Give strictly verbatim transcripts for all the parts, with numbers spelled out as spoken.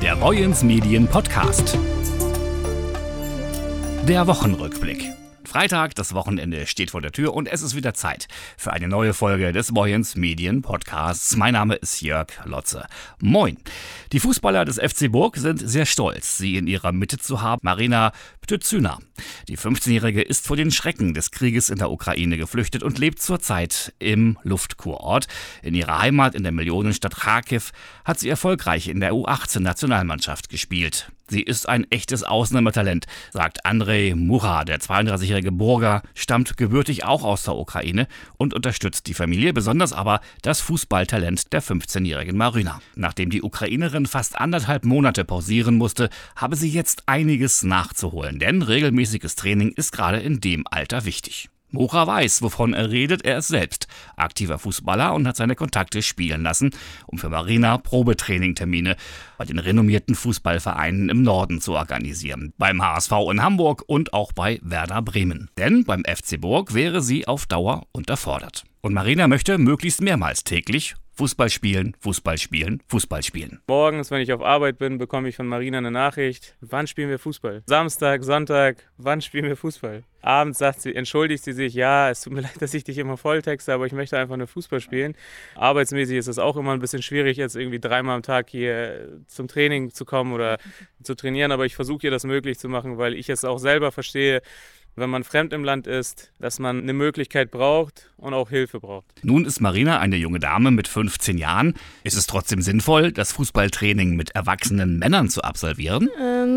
Der Boyens Medien Podcast. Der Wochenrückblick. Freitag, das Wochenende steht vor der Tür und es ist wieder Zeit für eine neue Folge des Boyens Medien Podcasts. Mein Name ist Jörg Lotze. Moin. Die Fußballer des F C Burg sind sehr stolz, sie in ihrer Mitte zu haben. Marina Ptützyna. Die fünfzehnjährige ist vor den Schrecken des Krieges in der Ukraine geflüchtet und lebt zurzeit im Luftkurort. In ihrer Heimat in der Millionenstadt Charkiw hat sie erfolgreich in der U achtzehn Nationalmannschaft gespielt. Sie ist ein echtes Ausnahmetalent, sagt Andrei Mucha. Der zweiunddreißigjährige Burger stammt gebürtig auch aus der Ukraine und unterstützt die Familie, besonders aber das Fußballtalent der fünfzehnjährigen Marina. Nachdem die Ukrainerin fast anderthalb Monate pausieren musste, habe sie jetzt einiges nachzuholen, denn regelmäßiges Training ist gerade in dem Alter wichtig. Mucha weiß, wovon er redet. Er ist selbst aktiver Fußballer und hat seine Kontakte spielen lassen, um für Marina Probetrainingtermine bei den renommierten Fußballvereinen im Norden zu organisieren. Beim H S V in Hamburg und auch bei Werder Bremen. Denn beim F C Burg wäre sie auf Dauer unterfordert. Und Marina möchte möglichst mehrmals täglich Fußball spielen, Fußball spielen, Fußball spielen. Morgens, wenn ich auf Arbeit bin, bekomme ich von Marina eine Nachricht. Wann spielen wir Fußball? Samstag, Sonntag, wann spielen wir Fußball? Abends sagt sie, entschuldigt sie sich, ja, es tut mir leid, dass ich dich immer volltexte, aber ich möchte einfach nur Fußball spielen. Arbeitsmäßig ist es auch immer ein bisschen schwierig, jetzt irgendwie dreimal am Tag hier zum Training zu kommen oder zu trainieren, aber ich versuche ihr das möglich zu machen, weil ich es auch selber verstehe, wenn man fremd im Land ist, dass man eine Möglichkeit braucht und auch Hilfe braucht. Nun ist Marina eine junge Dame mit fünfzehn Jahren. Ist es trotzdem sinnvoll, das Fußballtraining mit erwachsenen Männern zu absolvieren?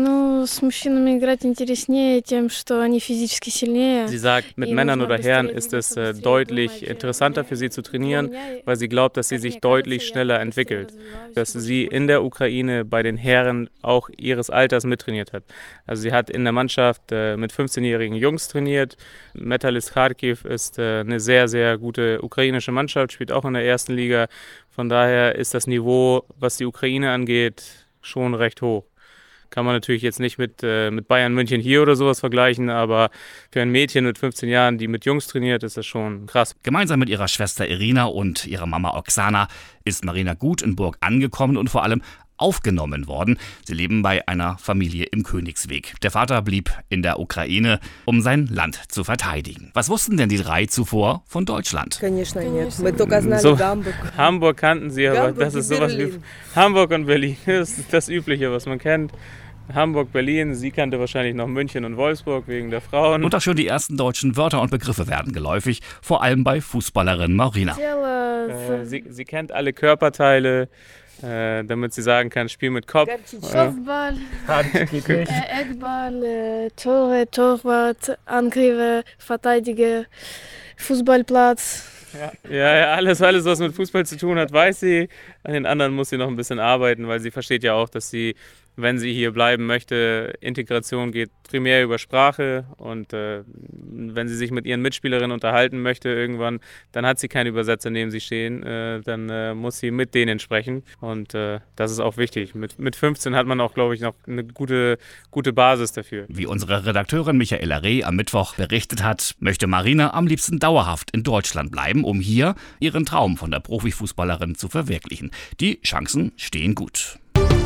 Sie sagt, mit Männern oder Herren ist es äh, deutlich interessanter für sie zu trainieren, weil sie glaubt, dass sie sich deutlich schneller entwickelt. Dass sie in der Ukraine bei den Herren auch ihres Alters mittrainiert hat. Also sie hat in der Mannschaft äh, mit fünfzehnjährigen Jungs trainiert. Metalist Charkiw ist äh, eine sehr, sehr gute ukrainische Mannschaft, spielt auch in der ersten Liga. Von daher ist das Niveau, was die Ukraine angeht, schon recht hoch. Kann man natürlich jetzt nicht mit, äh, mit Bayern München hier oder sowas vergleichen, aber für ein Mädchen mit fünfzehn Jahren, die mit Jungs trainiert, ist das schon krass. Gemeinsam mit ihrer Schwester Irina und ihrer Mama Oksana ist Marina gut in Burg angekommen und vor allem aufgenommen worden. Sie leben bei einer Familie im Königsweg. Der Vater blieb in der Ukraine, um sein Land zu verteidigen. Was wussten denn die drei zuvor von Deutschland? So, Hamburg kannten sie, aber das ist sowas wie Hamburg und Berlin. Das ist das Übliche, was man kennt. Hamburg, Berlin, sie kannte wahrscheinlich noch München und Wolfsburg wegen der Frauen. Und auch schon die ersten deutschen Wörter und Begriffe werden geläufig, vor allem bei Fußballerin Marina. Äh, sie, sie kennt alle Körperteile, Äh, damit sie sagen kann, Spiel mit Kopf. Kopfball, äh, Eckball, äh, Tore, Torwart, Angriffe, Verteidiger, Fußballplatz. Ja. ja, ja, alles, alles, was mit Fußball zu tun hat, weiß sie. An den anderen muss sie noch ein bisschen arbeiten, weil sie versteht ja auch, dass sie, wenn sie hier bleiben möchte, Integration geht primär über Sprache und äh, wenn sie sich mit ihren Mitspielerinnen unterhalten möchte irgendwann, dann hat sie keinen Übersetzer neben sich stehen, äh, dann äh, muss sie mit denen sprechen und äh, das ist auch wichtig. Mit, mit fünfzehn hat man auch, glaube ich, noch eine gute, gute Basis dafür. Wie unsere Redakteurin Michaela Reh am Mittwoch berichtet hat, möchte Marina am liebsten dauerhaft in Deutschland bleiben, um hier ihren Traum von der Profifußballerin zu verwirklichen. Die Chancen stehen gut.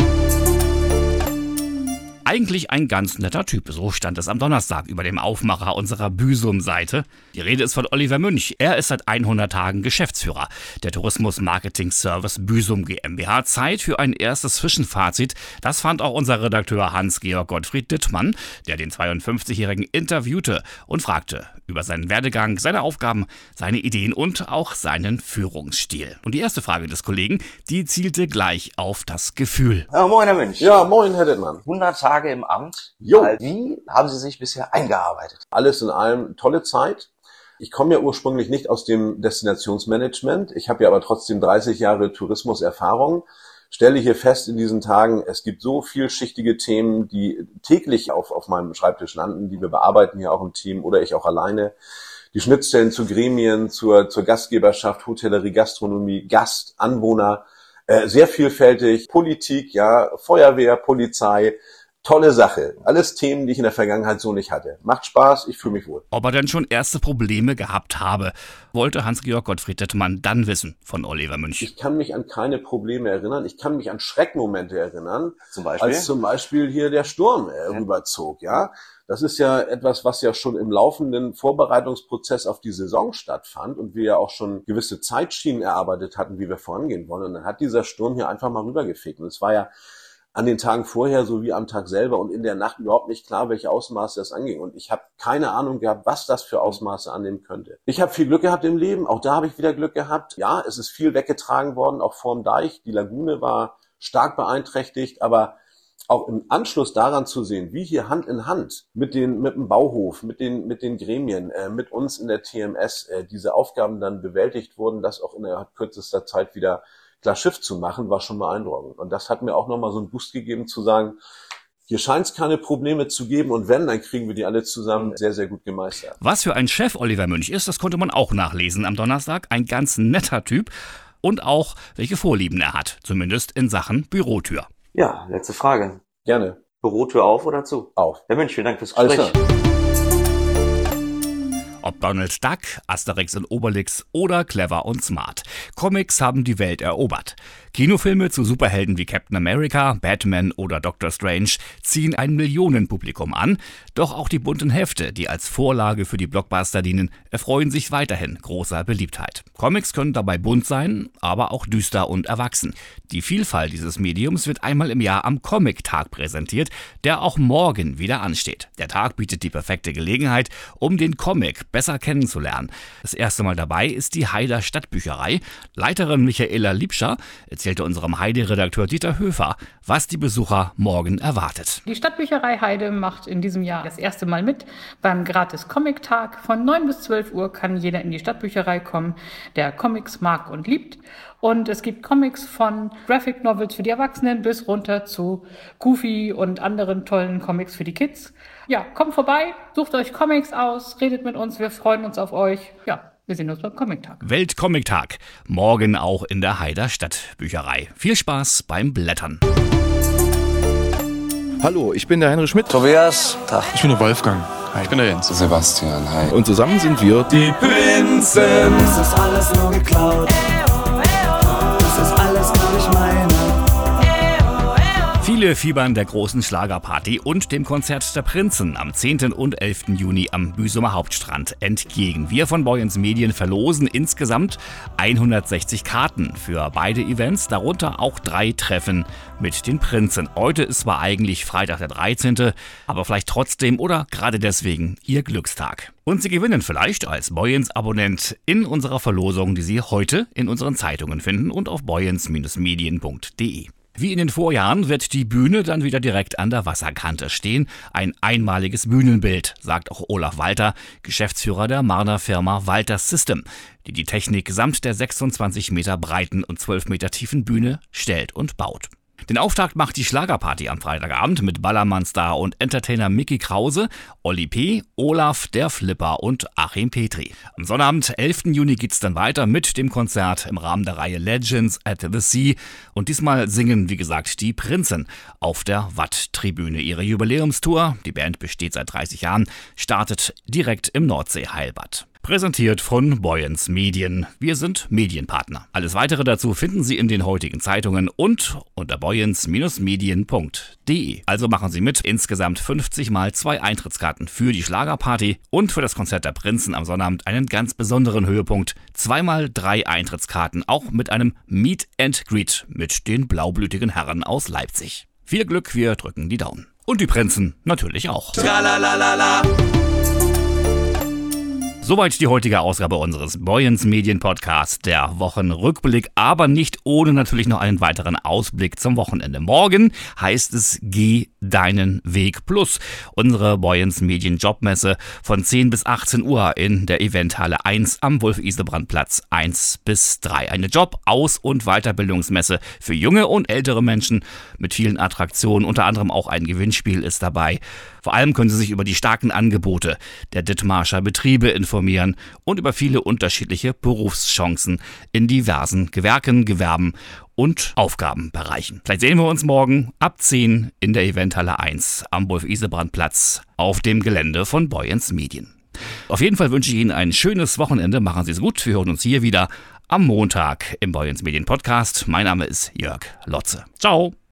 Eigentlich ein ganz netter Typ, so stand es am Donnerstag über dem Aufmacher unserer Büsum-Seite. Die Rede ist von Oliver Münch. Er ist seit hundert Tagen Geschäftsführer der Tourismus-Marketing-Service Büsum GmbH. Zeit für ein erstes Zwischenfazit. Das fand auch unser Redakteur Hans-Georg Gottfried Dittmann, der den zweiundfünfzigjährigen interviewte und fragte über seinen Werdegang, seine Aufgaben, seine Ideen und auch seinen Führungsstil. Und die erste Frage des Kollegen, die zielte gleich auf das Gefühl. Ja, moin, Herr Münch. Ja, moin, Herr Dittmann. hundert Tage im Amt. Jo. Wie haben Sie sich bisher eingearbeitet? Alles in allem tolle Zeit. Ich komme ja ursprünglich nicht aus dem Destinationsmanagement. Ich habe ja aber trotzdem dreißig Jahre Tourismuserfahrung. Stelle hier fest in diesen Tagen, es gibt so vielschichtige Themen, die täglich auf, auf meinem Schreibtisch landen, die wir bearbeiten hier auch im Team oder ich auch alleine. Die Schnittstellen zu Gremien, zur, zur Gastgeberschaft, Hotellerie, Gastronomie, Gast, Anwohner, äh, sehr vielfältig. Politik, ja, Feuerwehr, Polizei, Tolle Sache. Alles Themen, die ich in der Vergangenheit so nicht hatte. Macht Spaß, ich fühle mich wohl. Ob er denn schon erste Probleme gehabt habe, wollte Hans-Georg Gottfried Dettemann dann wissen von Oliver Münch. Ich kann mich an keine Probleme erinnern. Ich kann mich an Schreckmomente erinnern. Zum Beispiel? Als zum Beispiel hier der Sturm äh, ja. rüberzog, ja. Das ist ja etwas, was ja schon im laufenden Vorbereitungsprozess auf die Saison stattfand und wir ja auch schon gewisse Zeitschienen erarbeitet hatten, wie wir vorangehen wollen. Und dann hat dieser Sturm hier einfach mal rübergefegt. Und es war ja an den Tagen vorher sowie am Tag selber und in der Nacht überhaupt nicht klar, welche Ausmaße das anging. Und ich habe keine Ahnung gehabt, was das für Ausmaße annehmen könnte. Ich habe viel Glück gehabt im Leben, auch da habe ich wieder Glück gehabt. Ja, es ist viel weggetragen worden, auch vorm Deich. Die Lagune war stark beeinträchtigt, aber auch im Anschluss daran zu sehen, wie hier Hand in Hand mit den mit dem Bauhof, mit den mit den Gremien, äh, mit uns in der T M S äh, diese Aufgaben dann bewältigt wurden, das auch innerhalb kürzester Zeit wieder klar Schiff zu machen, war schon beeindruckend. Und das hat mir auch nochmal so einen Boost gegeben, zu sagen, hier scheint es keine Probleme zu geben und wenn, dann kriegen wir die alle zusammen sehr, sehr gut gemeistert. Was für ein Chef Oliver Münch ist, das konnte man auch nachlesen am Donnerstag. Ein ganz netter Typ und auch, welche Vorlieben er hat, zumindest in Sachen Bürotür. Ja, letzte Frage. Gerne. Bürotür auf oder zu? Auf. Herr Münch, vielen Dank fürs Gespräch. Alles klar. Ob Donald Duck, Asterix und Obelix oder Clever und Smart. Comics haben die Welt erobert. Kinofilme zu Superhelden wie Captain America, Batman oder Doctor Strange ziehen ein Millionenpublikum an. Doch auch die bunten Hefte, die als Vorlage für die Blockbuster dienen, erfreuen sich weiterhin großer Beliebtheit. Comics können dabei bunt sein, aber auch düster und erwachsen. Die Vielfalt dieses Mediums wird einmal im Jahr am Comic-Tag präsentiert, der auch morgen wieder ansteht. Der Tag bietet die perfekte Gelegenheit, um den Comic besser kennenzulernen. Das erste Mal dabei ist die Heider Stadtbücherei. Leiterin Michaela Liebscher erzählte unserem Heide-Redakteur Dieter Höfer, was die Besucher morgen erwartet. Die Stadtbücherei Heide macht in diesem Jahr das erste Mal mit beim Gratis-Comic-Tag. Von neun bis zwölf Uhr kann jeder in die Stadtbücherei kommen, der Comics mag und liebt. Und es gibt Comics von Graphic Novels für die Erwachsenen bis runter zu Goofy und anderen tollen Comics für die Kids. Ja, kommt vorbei, sucht euch Comics aus, redet mit uns, wir freuen uns auf euch. Ja. Wir sehen uns beim Comic-Tag. Weltcomic-Tag. Morgen auch in der Heider Stadtbücherei. Viel Spaß beim Blättern. Hallo, ich bin der Heinrich Schmidt. Tobias. Tag. Ich bin der Wolfgang. Hi. Ich bin der Jens. Sebastian. Hi. Und zusammen sind wir die Prinzen. Das ist alles nur geklaut. Das ist alles nur nicht meine. Viele fiebern der großen Schlagerparty und dem Konzert der Prinzen am zehnten und elften Juni am Büsumer Hauptstrand entgegen. Wir von Boyens Medien verlosen insgesamt hundertsechzig Karten für beide Events, darunter auch drei Treffen mit den Prinzen. Heute ist zwar eigentlich Freitag der dreizehnte, aber vielleicht trotzdem oder gerade deswegen Ihr Glückstag. Und Sie gewinnen vielleicht als Boyens-Abonnent in unserer Verlosung, die Sie heute in unseren Zeitungen finden und auf boyens Medien punkt de. Wie in den Vorjahren wird die Bühne dann wieder direkt an der Wasserkante stehen. Ein einmaliges Bühnenbild, sagt auch Olaf Walter, Geschäftsführer der Marder Firma Walter System, die die Technik samt der sechsundzwanzig Meter breiten und zwölf Meter tiefen Bühne stellt und baut. Den Auftakt macht die Schlagerparty am Freitagabend mit Ballermann-Star und Entertainer Micky Krause, Olli P., Olaf, der Flipper und Achim Petri. Am Sonnabend, elften Juni, geht's dann weiter mit dem Konzert im Rahmen der Reihe Legends at the Sea. Und diesmal singen, wie gesagt, die Prinzen auf der Watt-Tribüne. Ihre Jubiläumstour, die Band besteht seit dreißig Jahren, startet direkt im Nordsee-Heilbad. Präsentiert von Boyens Medien. Wir sind Medienpartner. Alles Weitere dazu finden Sie in den heutigen Zeitungen und unter boyens Medien punkt de. Also machen Sie mit. Insgesamt fünfzig mal zwei Eintrittskarten für die Schlagerparty und für das Konzert der Prinzen am Sonnabend einen ganz besonderen Höhepunkt. Zweimal drei Eintrittskarten, auch mit einem Meet and Greet mit den blaublütigen Herren aus Leipzig. Viel Glück, wir drücken die Daumen. Und die Prinzen natürlich auch. Tralalala. Soweit die heutige Ausgabe unseres Boyens Medien Podcasts, der Wochenrückblick, aber nicht ohne natürlich noch einen weiteren Ausblick zum Wochenende. Morgen heißt es Geh deinen Weg Plus, unsere Boyens Medien Jobmesse von zehn bis achtzehn Uhr in der Eventhalle eins am Wolf-Isebrand-Platz eins bis drei. Eine Job-, Aus- und Weiterbildungsmesse für junge und ältere Menschen mit vielen Attraktionen, unter anderem auch ein Gewinnspiel ist dabei. Vor allem können Sie sich über die starken Angebote der Dithmarscher Betriebe informieren und über viele unterschiedliche Berufschancen in diversen Gewerken, Gewerben und Aufgabenbereichen. Vielleicht sehen wir uns morgen ab zehn in der Eventhalle eins am Wolf-Isebrand-Platz auf dem Gelände von Boyens Medien. Auf jeden Fall wünsche ich Ihnen ein schönes Wochenende. Machen Sie es gut. Wir hören uns hier wieder am Montag im Boyens Medien Podcast. Mein Name ist Jörg Lotze. Ciao.